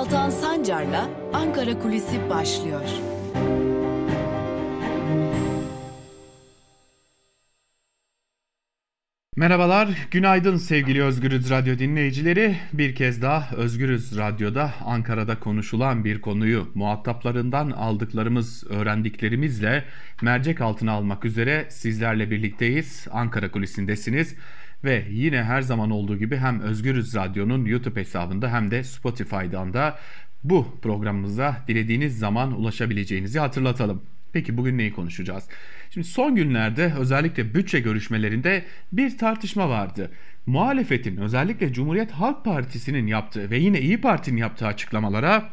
Altan Sancar'la Ankara Kulisi başlıyor. Merhabalar, günaydın sevgili Özgürüz Radyo dinleyicileri. Bir kez daha Özgürüz Radyo'da Ankara'da konuşulan bir konuyu muhataplarından aldıklarımız, öğrendiklerimizle mercek altına almak üzere sizlerle birlikteyiz. Ankara Kulisi'ndesiniz ve yine her zaman olduğu gibi hem Özgürüz Radyo'nun YouTube hesabında hem de Spotify'dan da bu programımıza dilediğiniz zaman ulaşabileceğinizi hatırlatalım. Peki bugün neyi konuşacağız? Şimdi son günlerde özellikle bütçe görüşmelerinde bir tartışma vardı. Muhalefetin özellikle Cumhuriyet Halk Partisi'nin yaptığı ve yine İyi Parti'nin yaptığı açıklamalara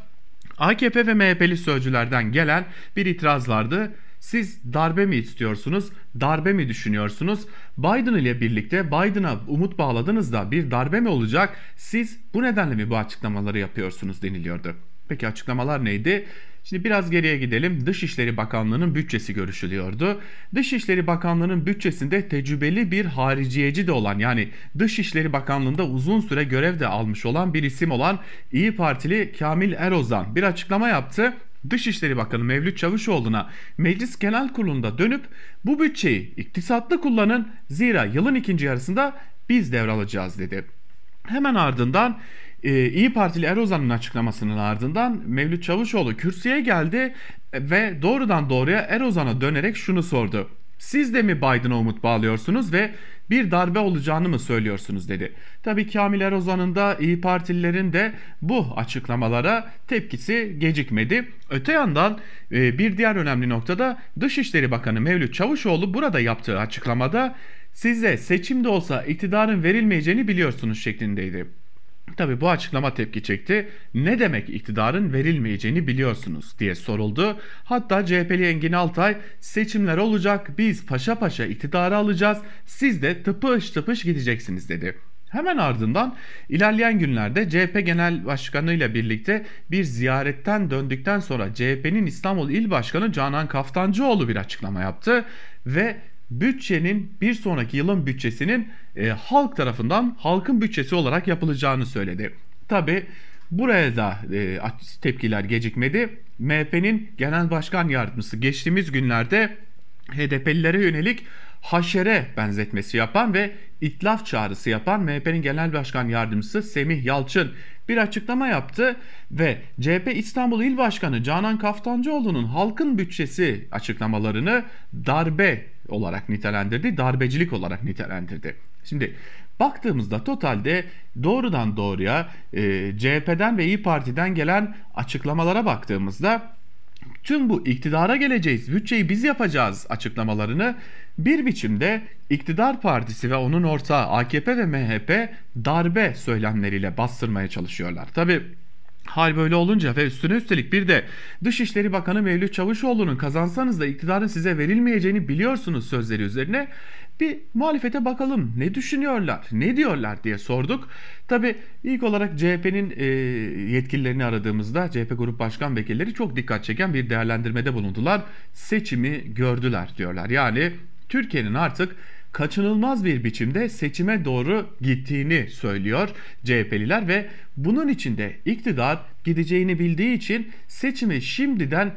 AKP ve MHP'li sözcülerden gelen bir itiraz vardı. Siz darbe mi istiyorsunuz? Darbe mi düşünüyorsunuz? Biden ile birlikte Biden'a umut bağladınız da bir darbe mi olacak? Siz bu nedenle mi bu açıklamaları yapıyorsunuz deniliyordu. Peki açıklamalar neydi? Şimdi biraz geriye gidelim. Dışişleri Bakanlığı'nın bütçesi görüşülüyordu. Dışişleri Bakanlığı'nın bütçesinde tecrübeli bir hariciyeci de olan, yani Dışişleri Bakanlığı'nda uzun süre görev de almış olan bir isim olan İyi Partili Kamil Erozan bir açıklama yaptı. Dışişleri Bakanı Mevlüt Çavuşoğlu'na Meclis Genel Kurulu'nda dönüp bu bütçeyi iktisatlı kullanın, zira yılın ikinci yarısında biz devralacağız dedi. Hemen ardından İyi Partili Erozan'ın açıklamasının ardından Mevlüt Çavuşoğlu kürsüye geldi ve doğrudan doğruya Erozan'a dönerek şunu sordu. Siz de mi Biden'a umut bağlıyorsunuz ve bir darbe olacağını mı söylüyorsunuz dedi. Tabii Kamil Erozan'ın da İyi Partililerin de bu açıklamalara tepkisi gecikmedi. Öte yandan bir diğer önemli noktada Dışişleri Bakanı Mevlüt Çavuşoğlu burada yaptığı açıklamada size seçimde olsa iktidarın verilmeyeceğini biliyorsunuz şeklindeydi. Tabii bu açıklama tepki çekti. Ne demek iktidarın verilmeyeceğini biliyorsunuz diye soruldu. Hatta CHP'li Engin Altay seçimler olacak, biz paşa paşa iktidarı alacağız, siz de tıpış tıpış gideceksiniz dedi. Hemen ardından ilerleyen günlerde CHP Genel Başkanı ile birlikte bir ziyaretten döndükten sonra CHP'nin İstanbul İl Başkanı Canan Kaftancıoğlu bir açıklama yaptı ve bütçenin bir sonraki yılın bütçesinin halk tarafından halkın bütçesi olarak yapılacağını söyledi. Tabi buraya da tepkiler gecikmedi. MHP'nin Genel Başkan Yardımcısı geçtiğimiz günlerde HDP'lilere yönelik haşere benzetmesi yapan ve itlaf çağrısı yapan MHP'nin Genel Başkan Yardımcısı Semih Yalçın bir açıklama yaptı ve CHP İstanbul İl Başkanı Canan Kaftancıoğlu'nun halkın bütçesi açıklamalarını darbe olarak nitelendirdi, darbecilik olarak nitelendirdi. Şimdi baktığımızda totalde doğrudan doğruya CHP'den ve İyi Parti'den gelen açıklamalara baktığımızda tüm bu iktidara geleceğiz, bütçeyi biz yapacağız açıklamalarını bir biçimde iktidar partisi ve onun ortağı AKP ve MHP darbe söylemleriyle bastırmaya çalışıyorlar. Tabii hal böyle olunca ve üstüne üstelik bir de Dışişleri Bakanı Mevlüt Çavuşoğlu'nun kazansanız da iktidarın size verilmeyeceğini biliyorsunuz sözleri üzerine bir muhalefete bakalım ne düşünüyorlar, ne diyorlar diye sorduk. Tabii ilk olarak CHP'nin yetkililerini aradığımızda CHP Grup Başkan Vekilleri çok dikkat çeken bir değerlendirmede bulundular. Seçimi gördüler diyorlar. Yani Türkiye'nin artık kaçınılmaz bir biçimde seçime doğru gittiğini söylüyor CHP'liler ve bunun içinde iktidar gideceğini bildiği için seçimi şimdiden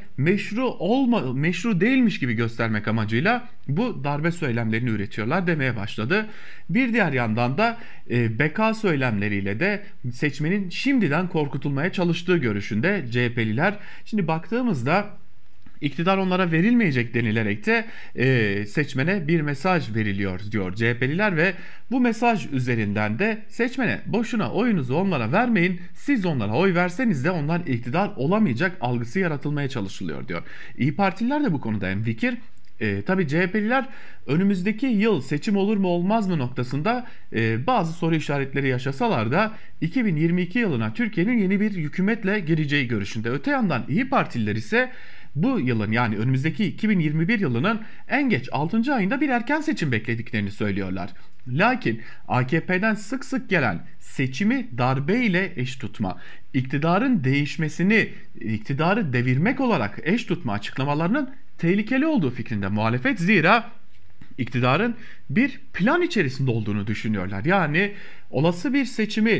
meşru değilmiş gibi göstermek amacıyla bu darbe söylemlerini üretiyorlar demeye başladı. Bir diğer yandan da beka söylemleriyle de seçmenin şimdiden korkutulmaya çalıştığı görüşünde CHP'liler. Şimdi baktığımızda İktidar onlara verilmeyecek denilerek de seçmene bir mesaj veriliyor diyor CHP'liler ve bu mesaj üzerinden de seçmene boşuna oyunuzu onlara vermeyin, siz onlara oy verseniz de onlar iktidar olamayacak algısı yaratılmaya çalışılıyor diyor. İyi Partililer de bu konuda hemfikir. Tabii CHP'liler önümüzdeki yıl seçim olur mu olmaz mı noktasında bazı soru işaretleri yaşasalar da 2022 yılına Türkiye'nin yeni bir hükümetle gireceği görüşünde. Öte yandan İyi Partililer ise bu yılın, yani önümüzdeki 2021 yılının en geç 6. ayında bir erken seçim beklediklerini söylüyorlar. Lakin AKP'den sık sık gelen seçimi darbe ile eş tutma, iktidarın değişmesini, iktidarı devirmek olarak eş tutma açıklamalarının tehlikeli olduğu fikrinde muhalefet. Zira iktidarın bir plan içerisinde olduğunu düşünüyorlar. Yani olası bir seçimi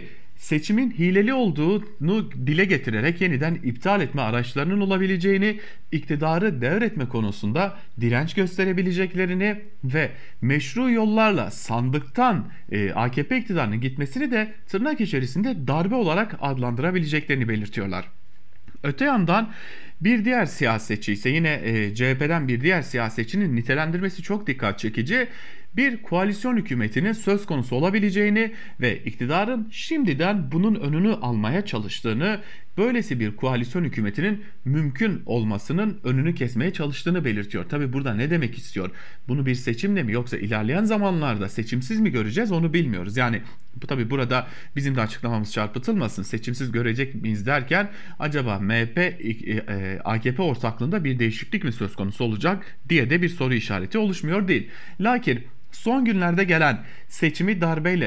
seçimin hileli olduğunu dile getirerek yeniden iptal etme araçlarının olabileceğini, iktidarı devretme konusunda direnç gösterebileceklerini ve meşru yollarla sandıktan AKP iktidarının gitmesini de tırnak içerisinde darbe olarak adlandırabileceklerini belirtiyorlar. Öte yandan bir diğer siyasetçi ise yine CHP'den bir diğer siyasetçinin nitelendirmesi çok dikkat çekici. Bir koalisyon hükümetinin söz konusu olabileceğini ve iktidarın şimdiden bunun önünü almaya çalıştığını, böylesi bir koalisyon hükümetinin mümkün olmasının önünü kesmeye çalıştığını belirtiyor. Tabi burada ne demek istiyor? Bunu bir seçimle mi yoksa ilerleyen zamanlarda seçimsiz mi göreceğiz onu bilmiyoruz. Yani tabi burada bizim de açıklamamız çarpıtılmasın. Seçimsiz görecek miyiz derken acaba MHP AKP ortaklığında bir değişiklik mi söz konusu olacak diye de bir soru işareti oluşmuyor değil. Lakin son günlerde gelen seçimi darbeyle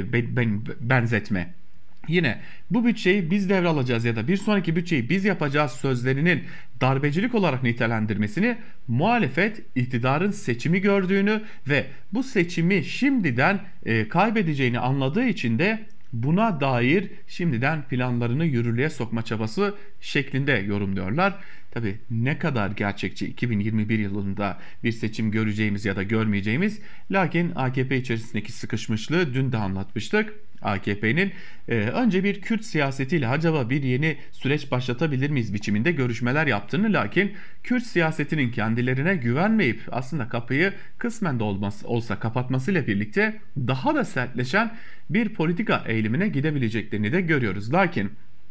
benzetme, yine bu bütçeyi biz devralacağız ya da bir sonraki bütçeyi biz yapacağız sözlerinin darbecilik olarak nitelendirmesini, muhalefet iktidarın seçimi gördüğünü ve bu seçimi şimdiden kaybedeceğini anladığı için de buna dair şimdiden planlarını yürürlüğe sokma çabası şeklinde yorumluyorlar. Tabii ne kadar gerçekçi 2021 yılında bir seçim göreceğimiz ya da görmeyeceğimiz, lakin AKP içerisindeki sıkışmışlığı dün de anlatmıştık. AKP'nin önce bir Kürt siyasetiyle acaba bir yeni süreç başlatabilir miyiz biçiminde görüşmeler yaptığını, lakin Kürt siyasetinin kendilerine güvenmeyip aslında kapıyı kısmen de olsa kapatmasıyla birlikte daha da sertleşen bir politika eğilimine gidebileceklerini de görüyoruz. Lakin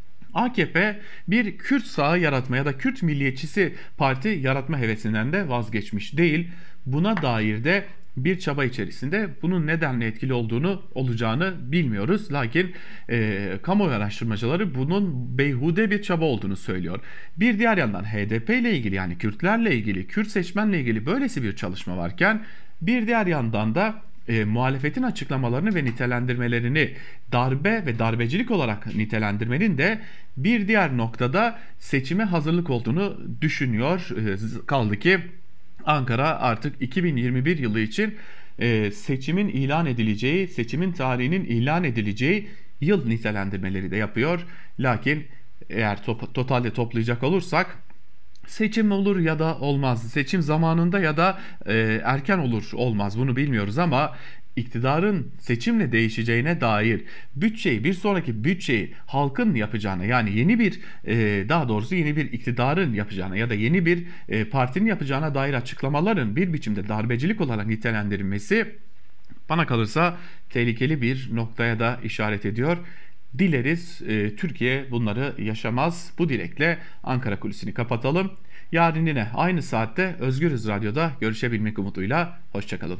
AKP bir Kürt sağı yaratma ya da Kürt milliyetçisi parti yaratma hevesinden de vazgeçmiş değil. Buna dair de bir çaba içerisinde, bunun nedenle etkili olacağını bilmiyoruz. Lakin kamuoyu araştırmacıları bunun beyhude bir çaba olduğunu söylüyor. Bir diğer yandan HDP ile ilgili, yani Kürtlerle ilgili, Kürt seçmenle ilgili böylesi bir çalışma varken, bir diğer yandan da muhalefetin açıklamalarını ve nitelendirmelerini darbe ve darbecilik olarak nitelendirmenin de bir diğer noktada seçime hazırlık olduğunu düşünüyor. Kaldı ki Ankara artık 2021 yılı için seçimin ilan edileceği, seçimin tarihinin ilan edileceği yıl nitelendirmeleri de yapıyor. Lakin eğer totalde toplayacak olursak, seçim olur ya da olmaz, seçim zamanında ya da erken olur olmaz, bunu bilmiyoruz ama iktidarın seçimle değişeceğine dair bütçeyi, bir sonraki bütçeyi halkın yapacağına, yani yeni bir daha doğrusu yeni bir iktidarın yapacağına ya da yeni bir partinin yapacağına dair açıklamaların bir biçimde darbecilik olarak nitelendirilmesi bana kalırsa tehlikeli bir noktaya da işaret ediyor. Dileriz Türkiye bunları yaşamaz. Bu dilekle Ankara Kulisi'ni kapatalım. Yarın yine aynı saatte Özgürüz Radyo'da görüşebilmek umuduyla. Hoşçakalın.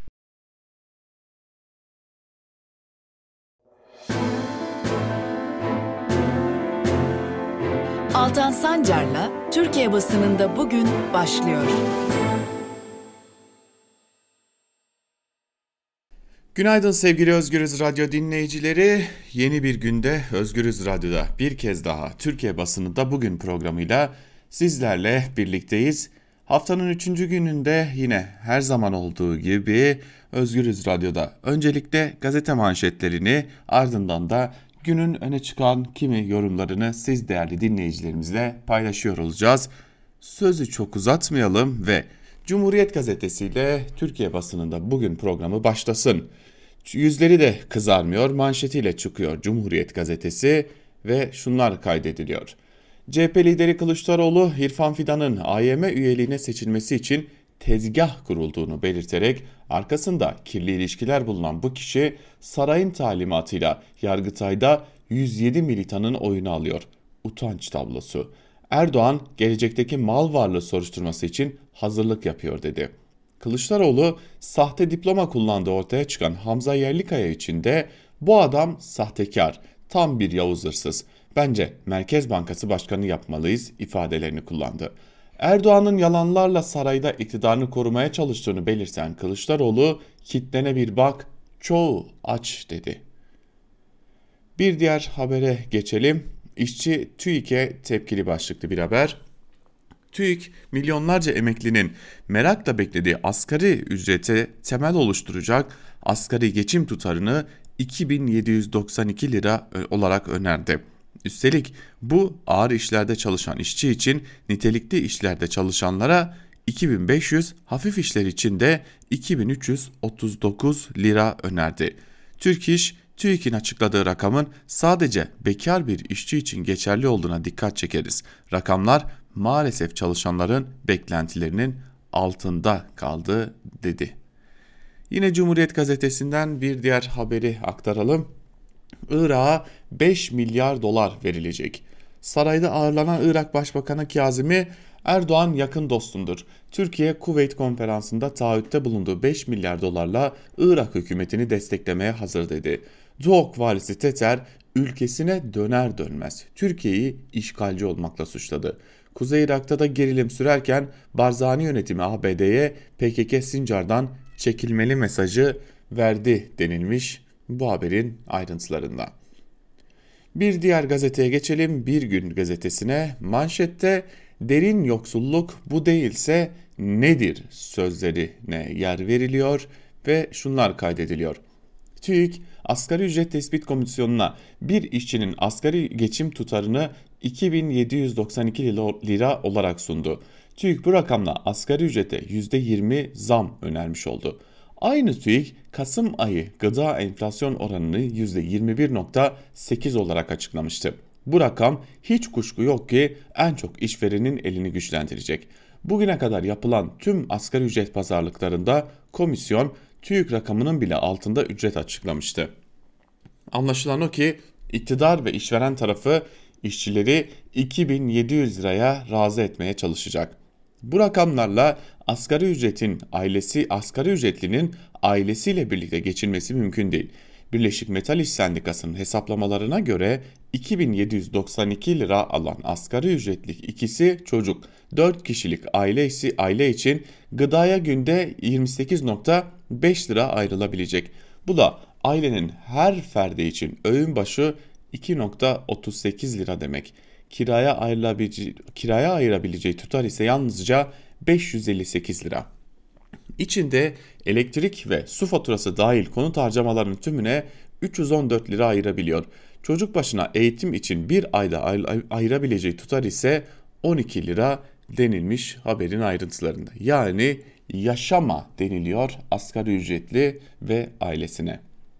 Altan Sancar'la Türkiye basınında bugün başlıyor. Günaydın sevgili Özgürüz Radyo dinleyicileri. Yeni bir günde Özgürüz Radyo'da bir kez daha Türkiye basınında bugün programıyla sizlerle birlikteyiz. Haftanın 3. gününde yine her zaman olduğu gibi Özgürüz Radyo'da öncelikle gazete manşetlerini, ardından da günün öne çıkan kimi yorumlarını siz değerli dinleyicilerimizle paylaşıyor olacağız. Sözü çok uzatmayalım ve Cumhuriyet Gazetesi ile Türkiye basınında bugün programı başlasın. Yüzleri de kızarmıyor manşetiyle çıkıyor Cumhuriyet Gazetesi ve şunlar kaydediliyor. CHP lideri Kılıçdaroğlu, İrfan Fidan'ın AYM üyeliğine seçilmesi için tezgah kurulduğunu belirterek arkasında kirli ilişkiler bulunan bu kişi sarayın talimatıyla Yargıtay'da 107 militanın oyunu alıyor. Utanç tablosu. Erdoğan gelecekteki mal varlığı soruşturması için hazırlık yapıyor dedi. Kılıçdaroğlu sahte diploma kullandığı ortaya çıkan Hamza Yerlikaya için de bu adam sahtekar, tam bir Yavuz hırsız. Bence Merkez Bankası Başkanı yapmalıyız ifadelerini kullandı. Erdoğan'ın yalanlarla sarayda iktidarını korumaya çalıştığını belirten Kılıçdaroğlu, kitlene bir bak, çoğu aç dedi. Bir diğer habere geçelim. İşçi TÜİK'e tepkili başlıklı bir haber. TÜİK, milyonlarca emeklinin merakla beklediği asgari ücrete temel oluşturacak asgari geçim tutarını 2792 lira olarak önerdi. Üstelik bu ağır işlerde çalışan işçi için nitelikli işlerde çalışanlara 2500, hafif işler için de 2339 lira önerdi. Türk İş, TÜİK'in açıkladığı rakamın sadece bekar bir işçi için geçerli olduğuna dikkat çekeriz. Rakamlar maalesef çalışanların beklentilerinin altında kaldı dedi. Yine Cumhuriyet Gazetesi'nden bir diğer haberi aktaralım. Irak'a 5 milyar dolar verilecek. Sarayda ağırlanan Irak Başbakanı Kazimi, Erdoğan yakın dostumdur. Türkiye Kuveyt konferansında taahhütte bulunduğu 5 milyar dolarla Irak hükümetini desteklemeye hazır dedi. Duhok valisi Teter ülkesine döner dönmez Türkiye'yi işgalci olmakla suçladı. Kuzey Irak'ta da gerilim sürerken Barzani yönetimi ABD'ye PKK Sincar'dan çekilmeli mesajı verdi denilmiş bu haberin ayrıntılarında. Bir diğer gazeteye geçelim. Bir Gün gazetesine manşette derin yoksulluk bu değilse nedir sözlerine yer veriliyor ve şunlar kaydediliyor. TÜİK Asgari Ücret Tespit Komisyonu'na bir işçinin asgari geçim tutarını 2792 lira olarak sundu. TÜİK bu rakamla asgari ücrete %20 zam önermiş oldu. Aynı TÜİK Kasım ayı gıda enflasyon oranını %21.8 olarak açıklamıştı. Bu rakam hiç kuşku yok ki en çok işverenin elini güçlendirecek. Bugüne kadar yapılan tüm asgari ücret pazarlıklarında komisyon TÜİK rakamının bile altında ücret açıklamıştı. Anlaşılan o ki iktidar ve işveren tarafı işçileri 2700 liraya razı etmeye çalışacak. Bu rakamlarla asgari ücretlinin ailesiyle birlikte geçinmesi mümkün değil. Birleşik Metal İş Sendikası'nın hesaplamalarına göre 2792 lira alan asgari ücretlik ikisi çocuk, 4 kişilik aile için gıdaya günde 28.5 lira ayrılabilecek. Bu da ailenin her ferdi için öğün başı 2.38 lira demek. Kiraya ayırabileceği tutar ise yalnızca 558 lira. İçinde elektrik ve su faturası dahil konut harcamalarının tümüne 314 lira ayırabiliyor. Çocuk başına eğitim için bir ayda ayırabileceği tutar ise 12 lira denilmiş haberin ayrıntılarında. Yani yaşama deniliyor asgari ücretli ve ailesine.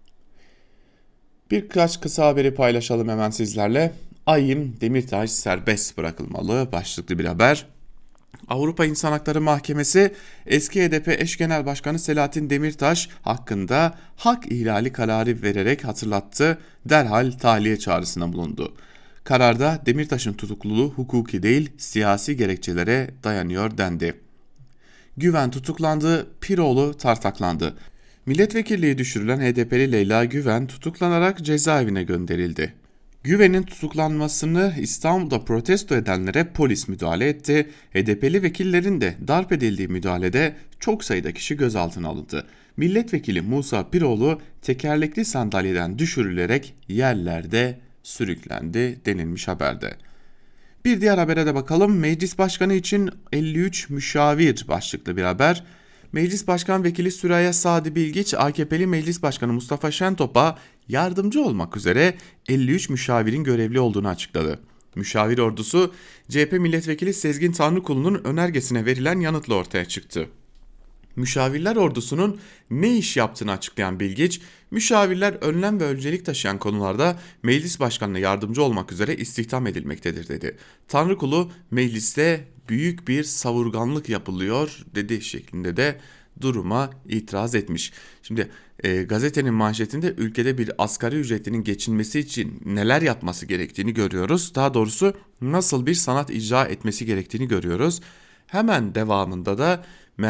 Birkaç kısa haberi paylaşalım hemen sizlerle. AYİM Demirtaş serbest bırakılmalı başlıklı bir haber. Avrupa İnsan Hakları Mahkemesi eski HDP eş genel başkanı Selahattin Demirtaş hakkında hak ihlali kararı vererek hatırlattı, derhal tahliye çağrısına bulundu. Kararda Demirtaş'ın tutukluluğu hukuki değil siyasi gerekçelere dayanıyor dendi. Güven tutuklandı, Piroğlu tartaklandı. Milletvekilliği düşürülen HDP'li Leyla Güven tutuklanarak cezaevine gönderildi. Güven'in tutuklanmasını İstanbul'da protesto edenlere polis müdahale etti. HDP'li vekillerin de darp edildiği müdahalede çok sayıda kişi gözaltına alındı. Milletvekili Musa Piroğlu tekerlekli sandalyeden düşürülerek yerlerde sürüklendi denilmiş haberde. Bir diğer habere de bakalım. Meclis Başkanı için 53 müşavir başlıklı bir haber. Meclis Başkan Vekili Süreyya Sadi Bilgiç, AKP'li Meclis Başkanı Mustafa Şentop'a yardımcı olmak üzere 53 müşavirin görevli olduğunu açıkladı. Müşavir ordusu CHP Milletvekili Sezgin Tanrıkulu'nun önergesine verilen yanıtla ortaya çıktı. Müşavirler ordusunun ne iş yaptığını açıklayan Bilgiç, müşavirler önlem ve öncelik taşıyan konularda meclis başkanına yardımcı olmak üzere istihdam edilmektedir dedi. Tanrıkulu mecliste büyük bir savurganlık yapılıyor dedi şeklinde de duruma itiraz etmiş. Şimdi gazetenin manşetinde ülkede bir asgari ücretlinin geçinmesi için neler yapması gerektiğini görüyoruz. Daha doğrusu nasıl bir sanat icra etmesi gerektiğini görüyoruz. Hemen devamında da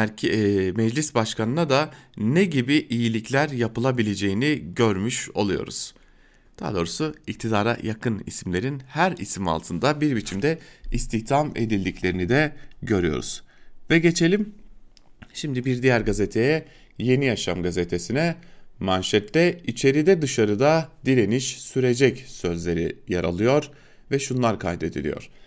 meclis başkanına da ne gibi iyilikler yapılabileceğini görmüş oluyoruz. Daha doğrusu iktidara yakın isimlerin her isim altında bir biçimde istihdam edildiklerini de görüyoruz. Ve geçelim şimdi bir diğer gazeteye, Yeni Yaşam gazetesine. Manşette içeride dışarıda direniş sürecek sözleri yer alıyor ve şunlar kaydediliyor.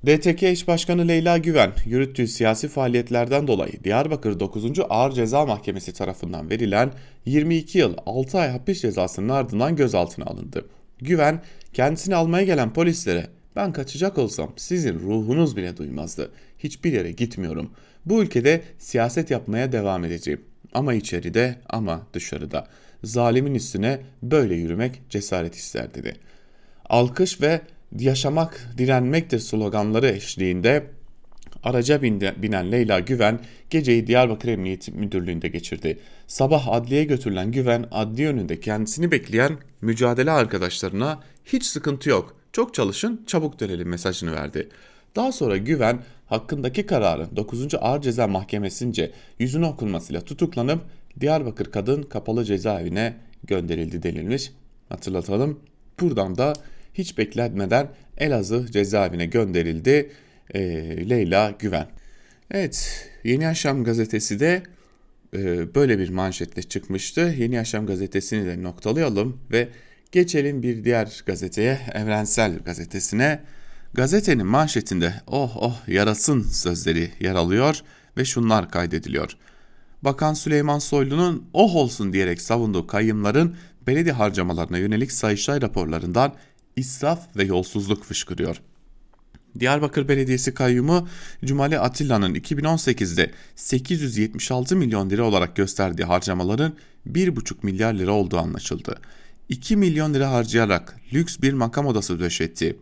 DTK İş Başkanı Leyla Güven, yürüttüğü siyasi faaliyetlerden dolayı Diyarbakır 9. Ağır Ceza Mahkemesi tarafından verilen 22 yıl 6 ay hapis cezasının ardından gözaltına alındı. Güven, kendisini almaya gelen polislere "Ben kaçacak olsam sizin ruhunuz bile duymazdı. Hiçbir yere gitmiyorum. Bu ülkede siyaset yapmaya devam edeceğim. Ama içeride ama dışarıda. Zalimin üstüne böyle yürümek cesaret ister" dedi. Alkış ve "Yaşamak direnmektir" sloganları eşliğinde araca binen Leyla Güven geceyi Diyarbakır Emniyet Müdürlüğü'nde geçirdi. Sabah adliyeye götürülen Güven, adliye önünde kendisini bekleyen mücadele arkadaşlarına "Hiç sıkıntı yok, çok çalışın, çabuk dönelim" mesajını verdi. Daha sonra Güven, hakkındaki kararın 9. Ağır Ceza Mahkemesi'nce yüzüne okunmasıyla tutuklanıp Diyarbakır Kadın Kapalı Cezaevine gönderildi denilmiş. Hatırlatalım, buradan da hiç beklenmeden Elazığ cezaevine gönderildi Leyla Güven. Evet, Yeni Yaşam gazetesi de böyle bir manşetle çıkmıştı. Yeni Yaşam gazetesini de noktalayalım ve geçelim bir diğer gazeteye, Evrensel Gazetesi'ne. Gazetenin manşetinde "Oh oh yarasın" sözleri yer alıyor ve şunlar kaydediliyor. Bakan Süleyman Soylu'nun "oh olsun" diyerek savunduğu kayyımların belediye harcamalarına yönelik Sayıştay raporlarından israf ve yolsuzluk fışkırıyor. Diyarbakır Belediyesi kayyumu Cumali Atilla'nın 2018'de 876 milyon lira olarak gösterdiği harcamaların 1,5 milyar lira olduğu anlaşıldı. 2 milyon lira harcayarak lüks bir makam odası döşetti.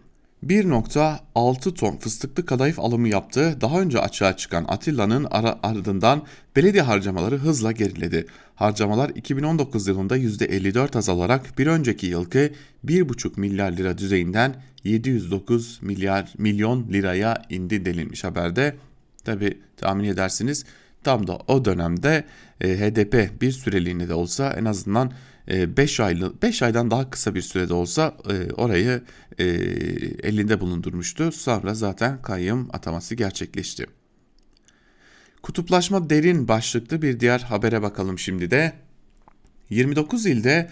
1,6 ton fıstıklı kadayıf alımı yaptığı daha önce açığa çıkan Atilla'nın ardından belediye harcamaları hızla geriledi. Harcamalar 2019 yılında %54 azalarak bir önceki yılki 1,5 milyar lira düzeyinden 709 milyon liraya indi denilmiş haberde. Tabi tahmin edersiniz tam da o dönemde HDP bir süreliğine de olsa, en azından 5 aydan daha kısa bir sürede olsa orayı elinde bulundurmuştu. Sonra zaten kayyum ataması gerçekleşti. Kutuplaşma derin başlıklı bir diğer habere bakalım şimdi de. 29 ilde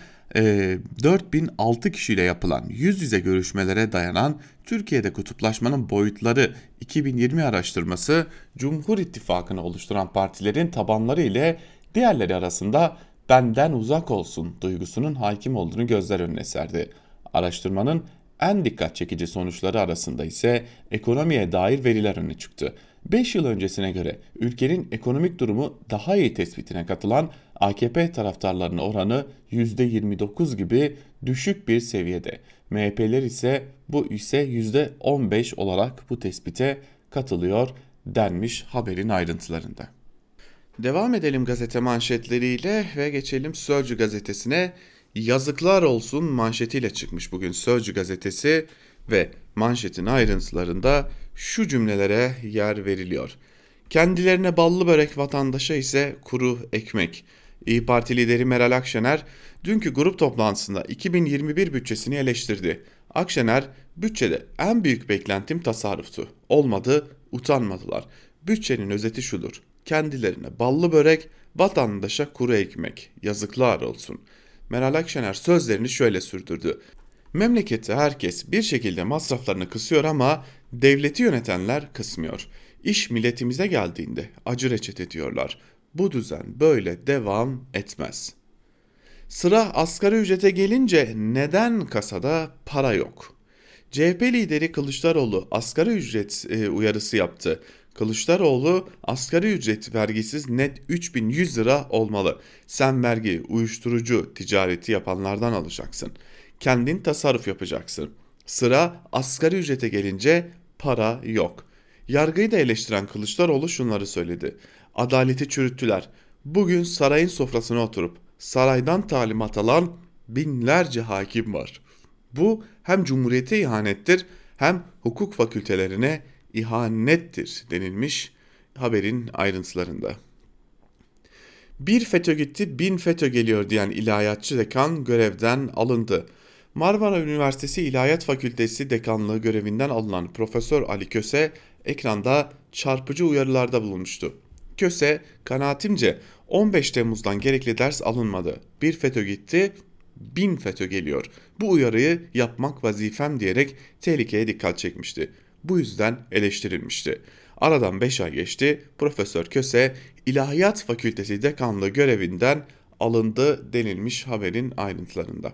4006 kişiyle yapılan yüz yüze görüşmelere dayanan Türkiye'de kutuplaşmanın boyutları 2020 araştırması, Cumhur İttifakı'nı oluşturan partilerin tabanları ile diğerleri arasında "benden uzak olsun" duygusunun hakim olduğunu gözler önüne serdi. Araştırmanın en dikkat çekici sonuçları arasında ise ekonomiye dair veriler öne çıktı. 5 yıl öncesine göre ülkenin ekonomik durumu daha iyi tespitine katılan AKP taraftarlarının oranı %29 gibi düşük bir seviyede. MHP'ler ise %15 olarak bu tespite katılıyor denmiş haberin ayrıntılarında. Devam edelim gazete manşetleriyle ve geçelim Sözcü gazetesine. "Yazıklar olsun" manşetiyle çıkmış bugün Sözcü gazetesi ve manşetin ayrıntılarında şu cümlelere yer veriliyor. "Kendilerine ballı börek, vatandaşa ise kuru ekmek." İYİ Parti lideri Meral Akşener dünkü grup toplantısında 2021 bütçesini eleştirdi. Akşener, "Bütçede en büyük beklentim tasarruftu. Olmadı, utanmadılar. Bütçenin özeti şudur: kendilerine ballı börek, vatandaşa kuru ekmek. Yazıklar olsun." Meral Akşener sözlerini şöyle sürdürdü. "Memlekette herkes bir şekilde masraflarını kısıyor ama devleti yönetenler kısmıyor. İş milletimize geldiğinde acı reçete diyorlar. Bu düzen böyle devam etmez." Sıra asgari ücrete gelince neden kasada para yok? CHP lideri Kılıçdaroğlu asgari ücret uyarısı yaptı. Kılıçdaroğlu, "Asgari ücret vergisiz net 3.100 lira olmalı. Sen vergi, uyuşturucu ticareti yapanlardan alacaksın. Kendin tasarruf yapacaksın. Sıra asgari ücrete gelince para yok." Yargıyı da eleştiren Kılıçdaroğlu şunları söyledi. "Adaleti çürüttüler. Bugün sarayın sofrasına oturup saraydan talimat alan binlerce hakim var. Bu hem cumhuriyete ihanettir hem hukuk fakültelerine ihanettir" denilmiş haberin ayrıntılarında. "Bir FETÖ gitti, 1000 FETÖ geliyor" diyen ilahiyatçı dekan görevden alındı. Marmara Üniversitesi İlahiyat Fakültesi dekanlığı görevinden alınan Profesör Ali Köse ekranda çarpıcı uyarılarda bulunmuştu. Köse, "Kanaatimce 15 Temmuz'dan gerekli ders alınmadı. Bir FETÖ gitti, 1000 FETÖ geliyor. Bu uyarıyı yapmak vazifem" diyerek tehlikeye dikkat çekmişti. bu yüzden eleştirilmişti. Aradan 5 ay geçti. Profesör Köse İlahiyat Fakültesi dekanlığı görevinden alındı denilmiş haberin ayrıntılarında.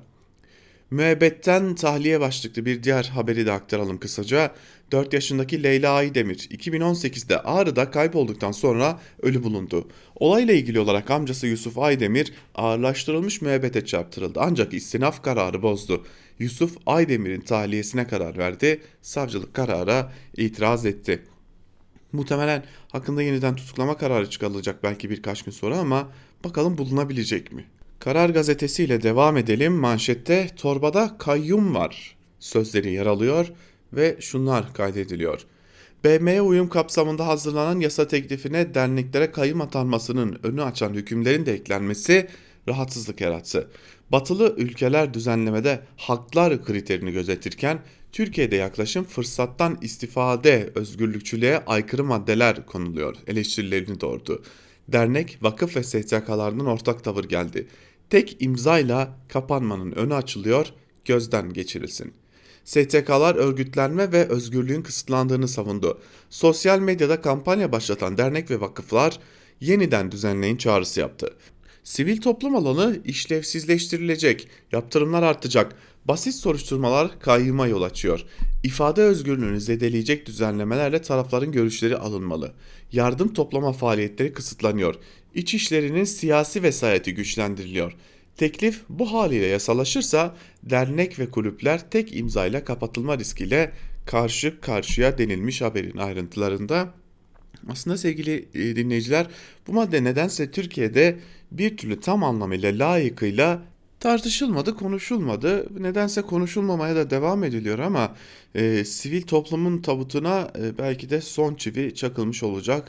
Müebbetten tahliye başlıklı bir diğer haberi de aktaralım kısaca. 4 yaşındaki Leyla Aydemir 2018'de Ağrı'da kaybolduktan sonra ölü bulundu. Olayla ilgili olarak amcası Yusuf Aydemir ağırlaştırılmış müebbete çarptırıldı ancak istinaf kararı bozdu. Yusuf Aydemir'in tahliyesine karar verdi, savcılık karara itiraz etti. Muhtemelen hakkında yeniden tutuklama kararı çıkarılacak belki birkaç gün sonra ama bakalım bulunabilecek mi? Karar gazetesiyle devam edelim. Manşette torbada kayyum var sözleri yer alıyor ve şunlar kaydediliyor. BM'ye uyum kapsamında hazırlanan yasa teklifine derneklere kayyum atanmasının önü açan hükümlerin de eklenmesi rahatsızlık yarattı. Batılı ülkeler düzenlemede haklar kriterini gözetirken Türkiye'de yaklaşım fırsattan istifade özgürlükçülüğe aykırı maddeler konuluyor eleştirilerini doğurdu. Dernek, vakıf ve STK'lardan ortak tavır geldi. Tek imzayla kapanmanın önü açılıyor, gözden geçirilsin. STK'lar örgütlenme ve özgürlüğün kısıtlandığını savundu. Sosyal medyada kampanya başlatan dernek ve vakıflar yeniden düzenleyin çağrısı yaptı. Sivil toplum alanı işlevsizleştirilecek, yaptırımlar artacak, basit soruşturmalar kayyıma yol açıyor. İfade özgürlüğünü zedeleyecek düzenlemelerle tarafların görüşleri alınmalı. Yardım toplama faaliyetleri kısıtlanıyor. İç işlerinin siyasi vesayeti güçlendiriliyor. Teklif bu haliyle yasalaşırsa dernek ve kulüpler tek imzayla kapatılma riskiyle karşı karşıya denilmiş haberin ayrıntılarında. Aslında sevgili dinleyiciler, bu madde nedense Türkiye'de bir türlü tam anlamıyla layıkıyla tartışılmadı, konuşulmadı. Nedense konuşulmamaya da devam ediliyor ama sivil toplumun tabutuna belki de son çivi çakılmış olacak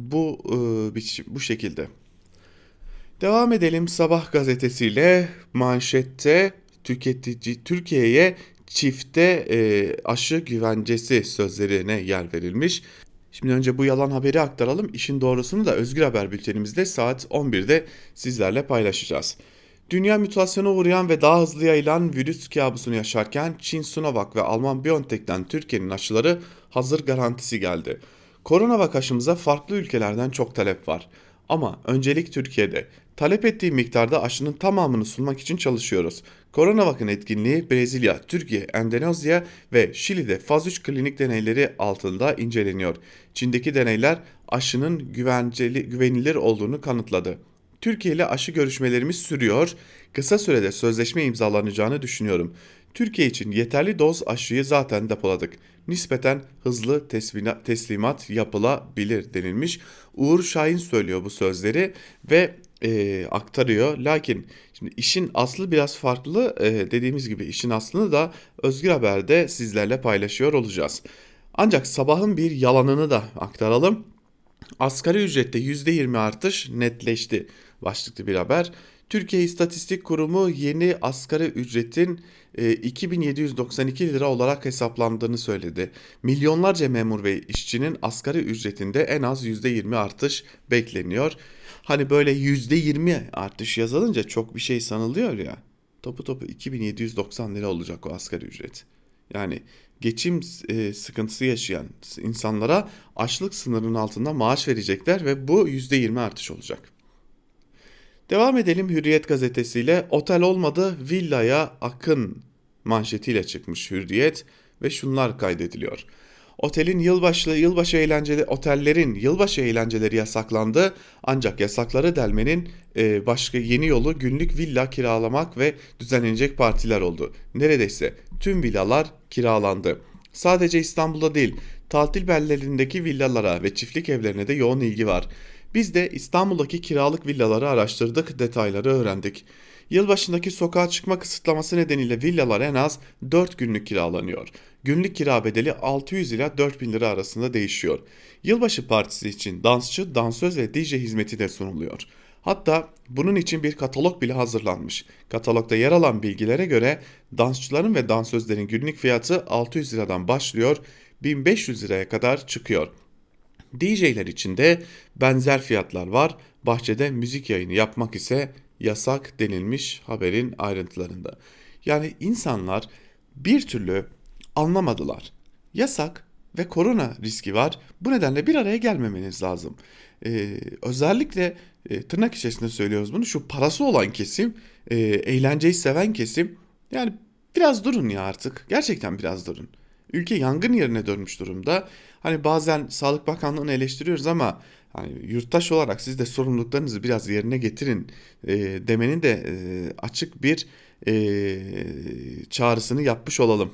bu şekilde. Devam edelim Sabah gazetesiyle. Manşette Türkiye'ye çifte aşı güvencesi sözlerine yer verilmiş. Şimdi önce bu yalan haberi aktaralım. İşin doğrusunu da Özgür Haber bültenimizde saat 11'de sizlerle paylaşacağız. Dünya mutasyona uğrayan ve daha hızlı yayılan virüs kabusunu yaşarken Çin Sinovac ve Alman BioNTech'ten Türkiye'nin aşıları hazır garantisi geldi. Coronavac aşımıza farklı ülkelerden çok talep var. Ama öncelik Türkiye'de. Talep ettiği miktarda aşının tamamını sunmak için çalışıyoruz. Coronavac'ın etkinliği Brezilya, Türkiye, Endonezya ve Şili'de faz 3 klinik deneyleri altında inceleniyor. Çin'deki deneyler aşının güvenilir olduğunu kanıtladı. Türkiye ile aşı görüşmelerimiz sürüyor. Kısa sürede sözleşme imzalanacağını düşünüyorum. Türkiye için yeterli doz aşıyı zaten depoladık. Nispeten hızlı teslimat yapılabilir denilmiş. Uğur Şahin söylüyor bu sözleri ve aktarıyor. Lakin şimdi işin aslı biraz farklı. Dediğimiz gibi işin aslını da Özgür Haber'de sizlerle paylaşıyor olacağız. Ancak sabahın bir yalanını da aktaralım. Asgari ücrette %20 artış netleşti başlıklı bir haber. Türkiye İstatistik Kurumu yeni asgari ücretin 2792 lira olarak hesaplandığını söyledi. Milyonlarca memur ve işçinin asgari ücretinde en az %20 artış bekleniyor. Hani böyle %20 artış yazılınca çok bir şey sanılıyor ya. Topu 2790 lira olacak o asgari ücret. Yani geçim sıkıntısı yaşayan insanlara açlık sınırının altında maaş verecekler ve bu %20 artış olacak. Devam edelim Hürriyet gazetesiyle. Otel olmadı villaya akın manşetiyle çıkmış Hürriyet ve şunlar kaydediliyor. Otellerin yılbaşı eğlenceleri yasaklandı ancak yasakları delmenin başka yeni yolu günlük villa kiralamak ve düzenlenecek partiler oldu. Neredeyse tüm villalar kiralandı. Sadece İstanbul'da değil, tatil beldelerindeki villalara ve çiftlik evlerine de yoğun ilgi var. Biz de İstanbul'daki kiralık villaları araştırdık, detayları öğrendik. Yılbaşındaki sokağa çıkma kısıtlaması nedeniyle villalar en az 4 günlük kiralanıyor. Günlük kira bedeli 600 ila 4000 lira arasında değişiyor. Yılbaşı partisi için dansçı, dansöz ve DJ hizmeti de sunuluyor. Hatta bunun için bir katalog bile hazırlanmış. Katalogda yer alan bilgilere göre dansçıların ve dansözlerin günlük fiyatı 600 liradan başlıyor, 1500 liraya kadar çıkıyor. DJ'ler için de benzer fiyatlar var. Bahçede müzik yayını yapmak ise yasak denilmiş haberin ayrıntılarında. Yani insanlar bir türlü anlamadılar. Yasak ve korona riski var. Bu nedenle bir araya gelmemeniz lazım. Özellikle tırnak içerisinde söylüyoruz bunu. Şu parası olan kesim, eğlenceyi seven kesim, yani biraz durun ya artık. Gerçekten biraz durun. Ülke yangın yerine dönmüş durumda. Hani bazen Sağlık Bakanlığı'nı eleştiriyoruz ama hani yurttaş olarak siz de sorumluluklarınızı biraz yerine getirin demenin de açık bir çağrısını yapmış olalım.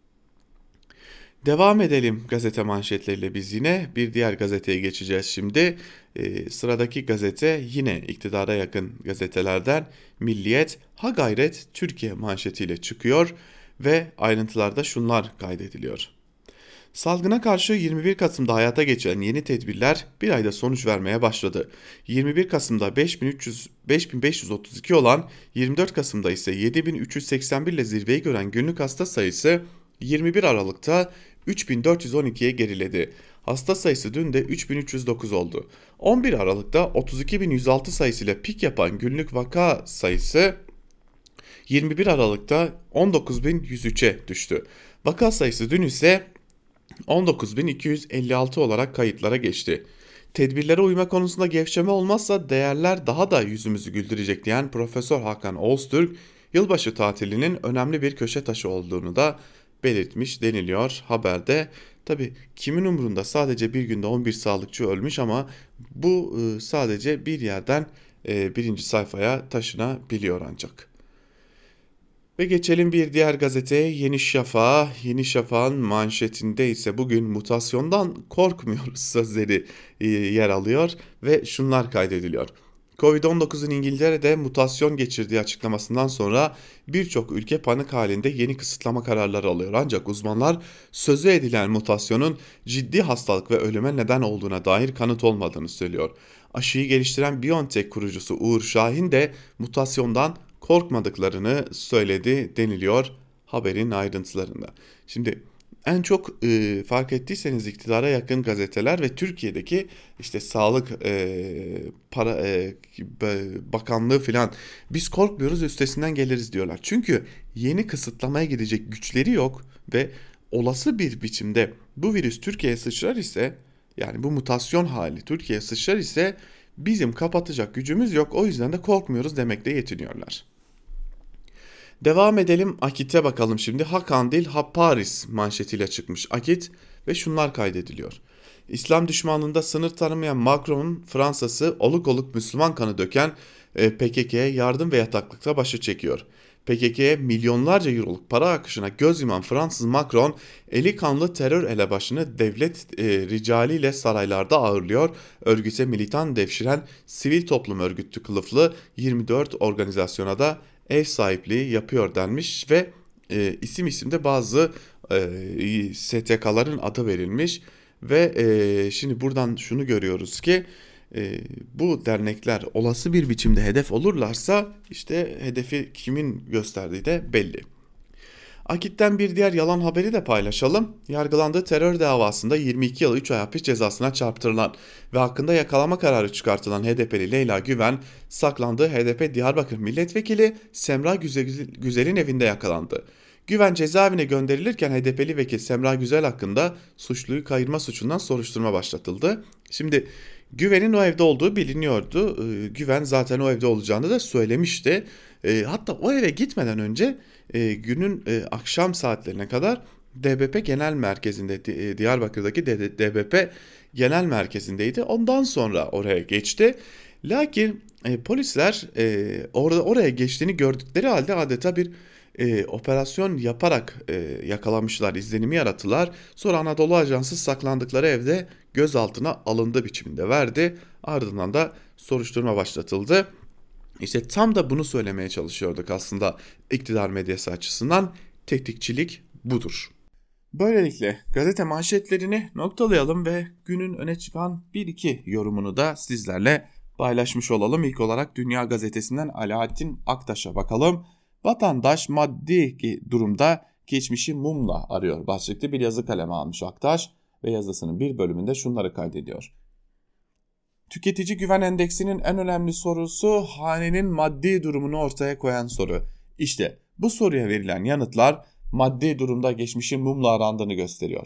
Devam edelim gazete manşetleriyle biz yine. Bir diğer gazeteye geçeceğiz şimdi. Sıradaki gazete yine iktidara yakın gazetelerden Milliyet. Ha gayret Türkiye manşetiyle çıkıyor ve ayrıntılarda şunlar kaydediliyor. Salgına karşı 21 Kasım'da hayata geçen yeni tedbirler bir ayda sonuç vermeye başladı. 21 Kasım'da 5532 olan, 24 Kasım'da ise 7381 ile zirveyi gören günlük hasta sayısı 21 Aralık'ta 3412'ye geriledi. Hasta sayısı dün de 3309 oldu. 11 Aralık'ta 32106 sayısıyla pik yapan günlük vaka sayısı 21 Aralık'ta 19103'e düştü. Vaka sayısı dün ise 19.256 olarak kayıtlara geçti. Tedbirlere uyma konusunda gevşeme olmazsa değerler daha da yüzümüzü güldürecek diyen Profesör Hakan Oğuztürk, yılbaşı tatilinin önemli bir köşe taşı olduğunu da belirtmiş deniliyor haberde. Tabi kimin umurunda, sadece bir günde 11 sağlıkçı ölmüş ama bu sadece bir yerden birinci sayfaya taşınabiliyor ancak. Ve geçelim bir diğer gazeteye, Yeni Şafak'a. Yeni Şafak'ın manşetinde ise bugün mutasyondan korkmuyoruz sözleri yer alıyor ve şunlar kaydediliyor. Covid-19'un İngiltere'de mutasyon geçirdiği açıklamasından sonra birçok ülke panik halinde yeni kısıtlama kararları alıyor. Ancak uzmanlar sözü edilen mutasyonun ciddi hastalık ve ölüme neden olduğuna dair kanıt olmadığını söylüyor. Aşıyı geliştiren BioNTech kurucusu Uğur Şahin de mutasyondan korkmadıklarını söyledi deniliyor haberin ayrıntılarında. Şimdi en çok fark ettiyseniz iktidara yakın gazeteler ve Türkiye'deki işte Sağlık Bakanlığı filan biz korkmuyoruz, üstesinden geliriz diyorlar. Çünkü yeni kısıtlamaya gidecek güçleri yok ve olası bir biçimde bu virüs Türkiye'ye sıçrar ise, yani bu mutasyon hali Türkiye'ye sıçrar ise bizim kapatacak gücümüz yok, o yüzden de korkmuyoruz demekle yetiniyorlar. Devam edelim, Akit'e bakalım şimdi. Ha Kandil ha Paris manşetiyle çıkmış Akit ve şunlar kaydediliyor. İslam düşmanlığında sınır tanımayan Macron'un Fransa'sı oluk oluk Müslüman kanı döken PKK'ye yardım ve yataklıkta başı çekiyor. PKK'ye milyonlarca euroluk para akışına göz yuman Fransız Macron, eli kanlı terör elebaşını devlet ricaliyle saraylarda ağırlıyor. Örgüte militan devşiren sivil toplum örgütü kılıflı 24 organizasyona da ev sahipliği yapıyor denmiş ve isim isimde bazı STK'ların adı verilmiş ve şimdi buradan şunu görüyoruz ki bu dernekler olası bir biçimde hedef olurlarsa işte hedefi kimin gösterdiği de belli. Akit'ten bir diğer yalan haberi de paylaşalım. Yargılandığı terör davasında 22 yıl 3 ay hapis cezasına çarptırılan ve hakkında yakalama kararı çıkartılan HDP'li Leyla Güven, saklandığı HDP Diyarbakır Milletvekili Semra Güzel'in evinde yakalandı. Güven cezaevine gönderilirken HDP'li vekil Semra Güzel hakkında suçluyu kayırma suçundan soruşturma başlatıldı. Şimdi Güven'in o evde olduğu biliniyordu. Güven zaten o evde olacağını da söylemişti. Hatta o eve gitmeden önce günün akşam saatlerine kadar DBP Genel Merkezi'nde, Diyarbakır'daki DBP Genel Merkezi'ndeydi. Ondan sonra oraya geçti. Lakin polisler oraya geçtiğini gördükleri halde adeta bir operasyon yaparak yakalamışlar, izlenimi yarattılar. Sonra Anadolu Ajansı saklandıkları evde gözaltına alındı biçiminde verdi. Ardından da soruşturma başlatıldı. İşte tam da bunu söylemeye çalışıyorduk aslında iktidar medyası açısından. Tetikçilik budur. Böylelikle gazete manşetlerini noktalayalım ve günün öne çıkan 1-2 yorumunu da sizlerle paylaşmış olalım. İlk olarak Dünya Gazetesi'nden Alaaddin Aktaş'a bakalım. Vatandaş maddi durumda geçmişi mumla arıyor başlıklı bir yazı kaleme almış Aktaş ve yazısının bir bölümünde şunları kaydediyor. Tüketici güven endeksinin en önemli sorusu hanenin maddi durumunu ortaya koyan soru. İşte bu soruya verilen yanıtlar maddi durumda geçmişin mumla arandığını gösteriyor.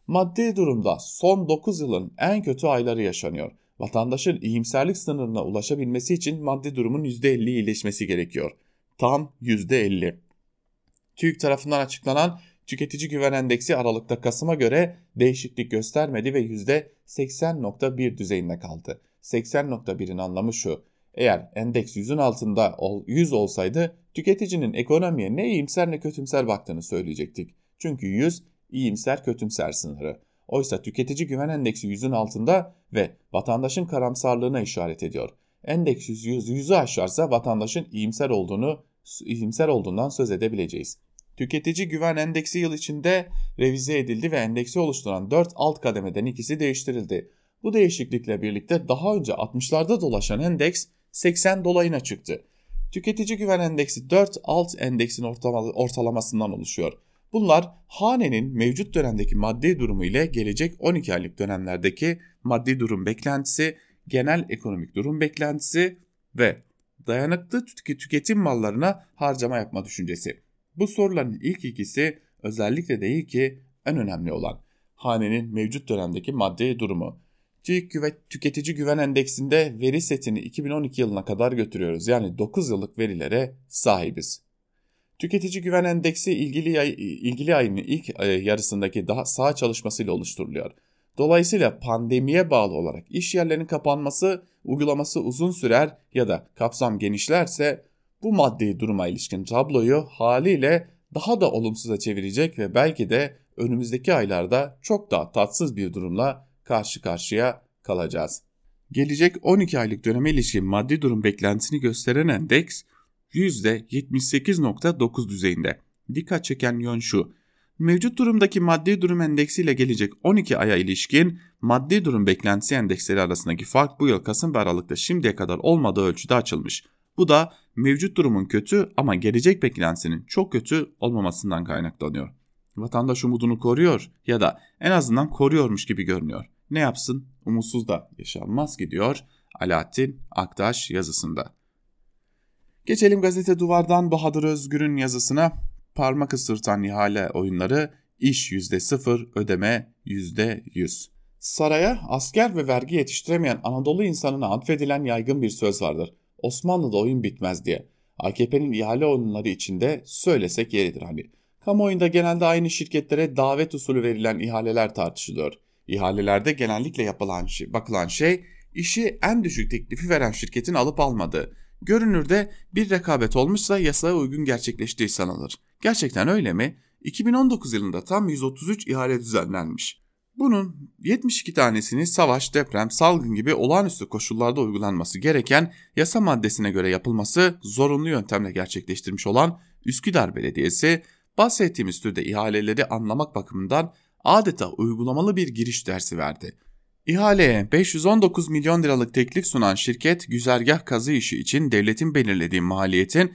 Maddi durumda son 9 yılın en kötü ayları yaşanıyor. Vatandaşın iyimserlik sınırına ulaşabilmesi için maddi durumun %50 iyileşmesi gerekiyor. Tam %50. TÜİK tarafından açıklanan Tüketici Güven Endeksi Aralık'ta Kasım'a göre değişiklik göstermedi ve %80.1 düzeyinde kaldı. 80.1'in anlamı şu: eğer endeks 100'ün altında 100 olsaydı tüketicinin ekonomiye ne iyimser ne kötümser baktığını söyleyecektik. Çünkü 100 iyimser kötümser sınırı. Oysa tüketici güven endeksi 100'ün altında ve vatandaşın karamsarlığına işaret ediyor. Endeks 100'ü aşarsa vatandaşın iyimser olduğundan söz edebileceğiz. Tüketici güven endeksi yıl içinde revize edildi ve endeksi oluşturan 4 alt kademeden ikisi değiştirildi. Bu değişiklikle birlikte daha önce 60'larda dolaşan endeks 80 dolayına çıktı. Tüketici güven endeksi 4 alt endeksin ortalamasından oluşuyor. Bunlar hanenin mevcut dönemdeki maddi durumu ile gelecek 12 aylık dönemlerdeki maddi durum beklentisi, genel ekonomik durum beklentisi ve dayanıklı tüketim mallarına harcama yapma düşüncesi. Bu soruların ilk ikisi özellikle değil ki en önemli olan hanenin mevcut dönemdeki maddi durumu. Tüketici güven endeksinde veri setini 2012 yılına kadar götürüyoruz. Yani 9 yıllık verilere sahibiz. Tüketici güven endeksi ilgili ayın ilk yarısındaki daha sağ çalışmasıyla oluşturuluyor. Dolayısıyla pandemiye bağlı olarak iş yerlerinin kapanması, uygulaması uzun sürer ya da kapsam genişlerse bu maddi duruma ilişkin tabloyu haliyle daha da olumsuza çevirecek ve belki de önümüzdeki aylarda çok daha tatsız bir durumla karşı karşıya kalacağız. Gelecek 12 aylık döneme ilişkin maddi durum beklentisini gösteren endeks %78.9 düzeyinde. Dikkat çeken yön şu: mevcut durumdaki maddi durum endeksiyle gelecek 12 aya ilişkin maddi durum beklentisi endeksleri arasındaki fark bu yıl Kasım ve Aralık'ta şimdiye kadar olmadığı ölçüde açılmış. Bu da mevcut durumun kötü ama gelecek beklentisinin çok kötü olmamasından kaynaklanıyor. Vatandaş umudunu koruyor ya da en azından koruyormuş gibi görünüyor. Ne yapsın? Umutsuz da yaşanmaz ki diyor Alaaddin Aktaş yazısında. Geçelim gazete Duvar'dan Bahadır Özgür'ün yazısına. Parmak ısırtan ihale oyunları, iş %0, ödeme %100. Saraya asker ve vergi yetiştiremeyen Anadolu insanına atfedilen yaygın bir söz vardır: Osmanlı'da oyun bitmez diye. AKP'nin ihale oyunları içinde söylesek yeridir hani. Kamuoyunda genelde aynı şirketlere davet usulü verilen ihaleler tartışılıyor. İhalelerde genellikle bakılan şey işi en düşük teklifi veren şirketin alıp almadığı. Görünürde bir rekabet olmuşsa yasaya uygun gerçekleştiği sanılır. Gerçekten öyle mi? 2019 yılında tam 133 ihale düzenlenmiş. Bunun 72 tanesini savaş, deprem, salgın gibi olağanüstü koşullarda uygulanması gereken yasa maddesine göre yapılması zorunlu yöntemle gerçekleştirmiş olan Üsküdar Belediyesi, bahsettiğimiz türde ihaleleri anlamak bakımından adeta uygulamalı bir giriş dersi verdi. İhaleye 519 milyon liralık teklif sunan şirket, güzergah kazı işi için devletin belirlediği maliyetin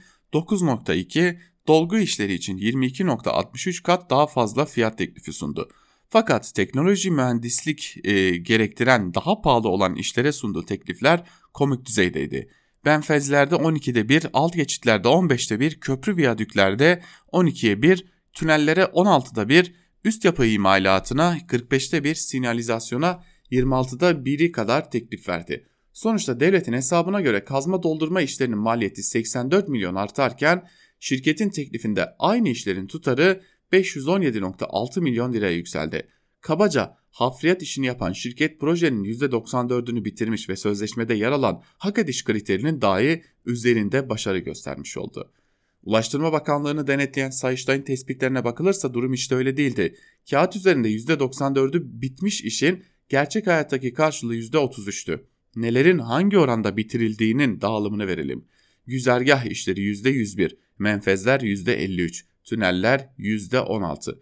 9.2, dolgu işleri için 22.63 kat daha fazla fiyat teklifi sundu. Fakat teknoloji mühendislik gerektiren daha pahalı olan işlere sunduğu teklifler komik düzeydeydi. Benfezlerde 12'de 1, alt geçitlerde 15'te 1, köprü viyadüklerde 12'ye 1, tünellere 16'da 1, üst yapı imalatına 45'te 1, sinyalizasyona 26'da 1'i kadar teklif verdi. Sonuçta devletin hesabına göre kazma doldurma işlerinin maliyeti 84 milyon artarken şirketin teklifinde aynı işlerin tutarı 517.6 milyon liraya yükseldi. Kabaca hafriyat işini yapan şirket projenin %94'ünü bitirmiş ve sözleşmede yer alan hak ediş kriterinin dahi üzerinde başarı göstermiş oldu. Ulaştırma Bakanlığı'nı denetleyen Sayıştay'ın tespitlerine bakılırsa durum işte öyle değildi. Kağıt üzerinde %94'ü bitmiş işin gerçek hayattaki karşılığı %33'tü. Nelerin hangi oranda bitirildiğinin dağılımını verelim. Güzergah işleri %101, menfezler %53, tüneller %16,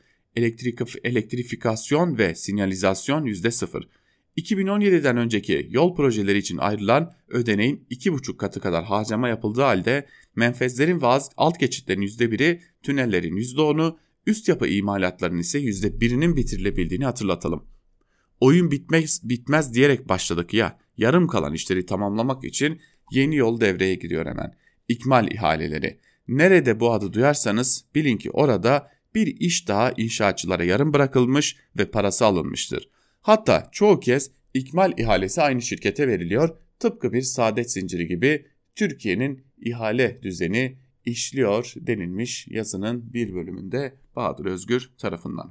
elektrifikasyon ve sinyalizasyon %0. 2017'den önceki yol projeleri için ayrılan ödeneğin 2,5 katı kadar harcama yapıldığı halde menfezlerin ve alt geçitlerin %1'i, tünellerin %10'u, üst yapı imalatlarının ise %1'inin bitirilebildiğini hatırlatalım. Oyun bitmez diyerek başladık ya, yarım kalan işleri tamamlamak için yeni yol devreye giriyor hemen. İkmal ihaleleri. Nerede bu adı duyarsanız bilin ki orada bir iş daha inşaatçılara yarım bırakılmış ve parası alınmıştır. Hatta çoğu kez ikmal ihalesi aynı şirkete veriliyor. Tıpkı bir saadet zinciri gibi Türkiye'nin ihale düzeni işliyor denilmiş yazının bir bölümünde Bahadır Özgür tarafından.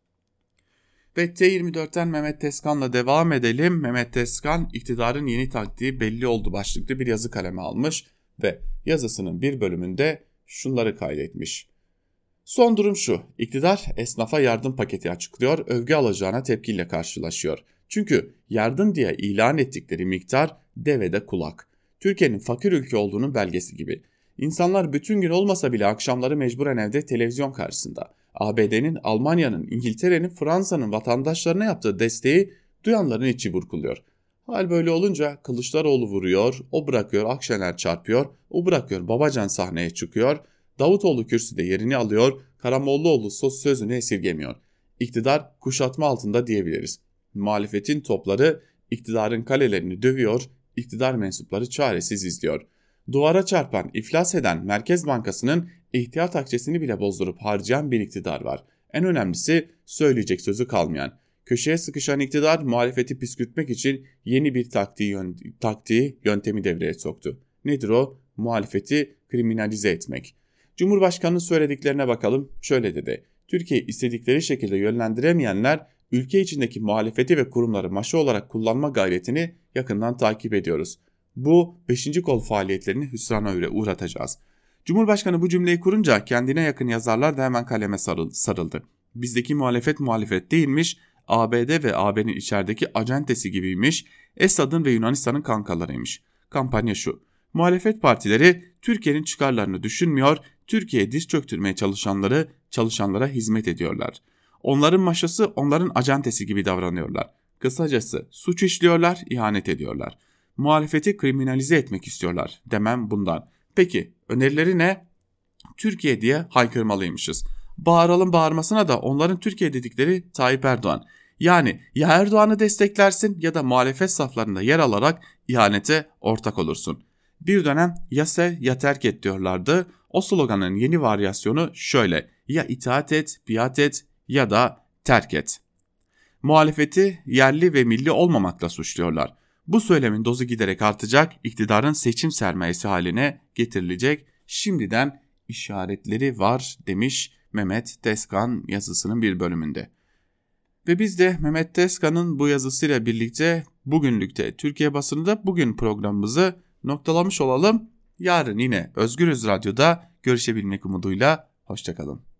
Ve T24'ten Mehmet Tezkan'la devam edelim. Mehmet Tezkan, iktidarın yeni taktiği belli oldu başlıklı bir yazı kaleme almış ve yazısının bir bölümünde şunları kaydetmiş. Son durum şu: İktidar esnafa yardım paketi açıklıyor, övgü alacağına tepkiyle karşılaşıyor. Çünkü yardım diye ilan ettikleri miktar devede kulak. Türkiye'nin fakir ülke olduğunun belgesi gibi. İnsanlar bütün gün olmasa bile akşamları mecburen evde televizyon karşısında. ABD'nin, Almanya'nın, İngiltere'nin, Fransa'nın vatandaşlarına yaptığı desteği duyanların içi burkuluyor. Hal böyle olunca Kılıçdaroğlu vuruyor, o bırakıyor, Akşener çarpıyor, o bırakıyor, Babacan sahneye çıkıyor, Davutoğlu kürsüde yerini alıyor, Karamollaoğlu sözünü esirgemiyor. İktidar kuşatma altında diyebiliriz. Muhalefetin topları iktidarın kalelerini dövüyor, iktidar mensupları çaresiz izliyor. Duvara çarpan, iflas eden Merkez Bankası'nın ihtiyat akçesini bile bozdurup harcayan bir iktidar var. En önemlisi söyleyecek sözü kalmayan. Köşeye sıkışan iktidar muhalefeti püskürtmek için yeni bir yöntemi devreye soktu. Nedir o? Muhalefeti kriminalize etmek. Cumhurbaşkanının söylediklerine bakalım. Şöyle dedi: Türkiye'yi istedikleri şekilde yönlendiremeyenler ülke içindeki muhalefeti ve kurumları maşa olarak kullanma gayretini yakından takip ediyoruz. Bu 5. kol faaliyetlerini hüsrana uğratacağız. Cumhurbaşkanı bu cümleyi kurunca kendine yakın yazarlar da hemen kaleme sarıldı. Bizdeki muhalefet değilmiş, ABD ve AB'nin içerideki acentesi gibiymiş, Esad'ın ve Yunanistan'ın kankalarıymış. Kampanya şu: muhalefet partileri Türkiye'nin çıkarlarını düşünmüyor, Türkiye'ye diz çöktürmeye çalışanlara hizmet ediyorlar. Onların maşası, onların acentesi gibi davranıyorlar. Kısacası suç işliyorlar, ihanet ediyorlar. Muhalefeti kriminalize etmek istiyorlar demem bundan. Peki önerileri ne? Türkiye diye haykırmalıymışız. Bağıralım bağırmasına da onların Türkiye dedikleri Tayyip Erdoğan. Yani ya Erdoğan'ı desteklersin ya da muhalefet saflarında yer alarak ihanete ortak olursun. Bir dönem ya sev ya terk et diyorlardı. O sloganın yeni varyasyonu şöyle: ya itaat et, biat et ya da terk et. Muhalefeti yerli ve milli olmamakla suçluyorlar. Bu söylemin dozu giderek artacak, iktidarın seçim sermayesi haline getirilecek, şimdiden işaretleri var demiş Mehmet Tezkan yazısının bir bölümünde. Ve biz de Mehmet Tezkan'ın bu yazısıyla birlikte bugünlükte Türkiye basınında bugün programımızı noktalamış olalım. Yarın yine Özgürüz Radyo'da görüşebilmek umuduyla hoşçakalın.